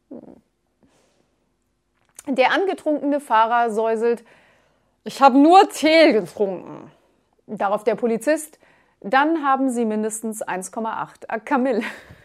Der angetrunkene Fahrer säuselt: Ich habe nur Tee getrunken. Darauf der Polizist: Dann haben Sie mindestens 1,8 Kamille.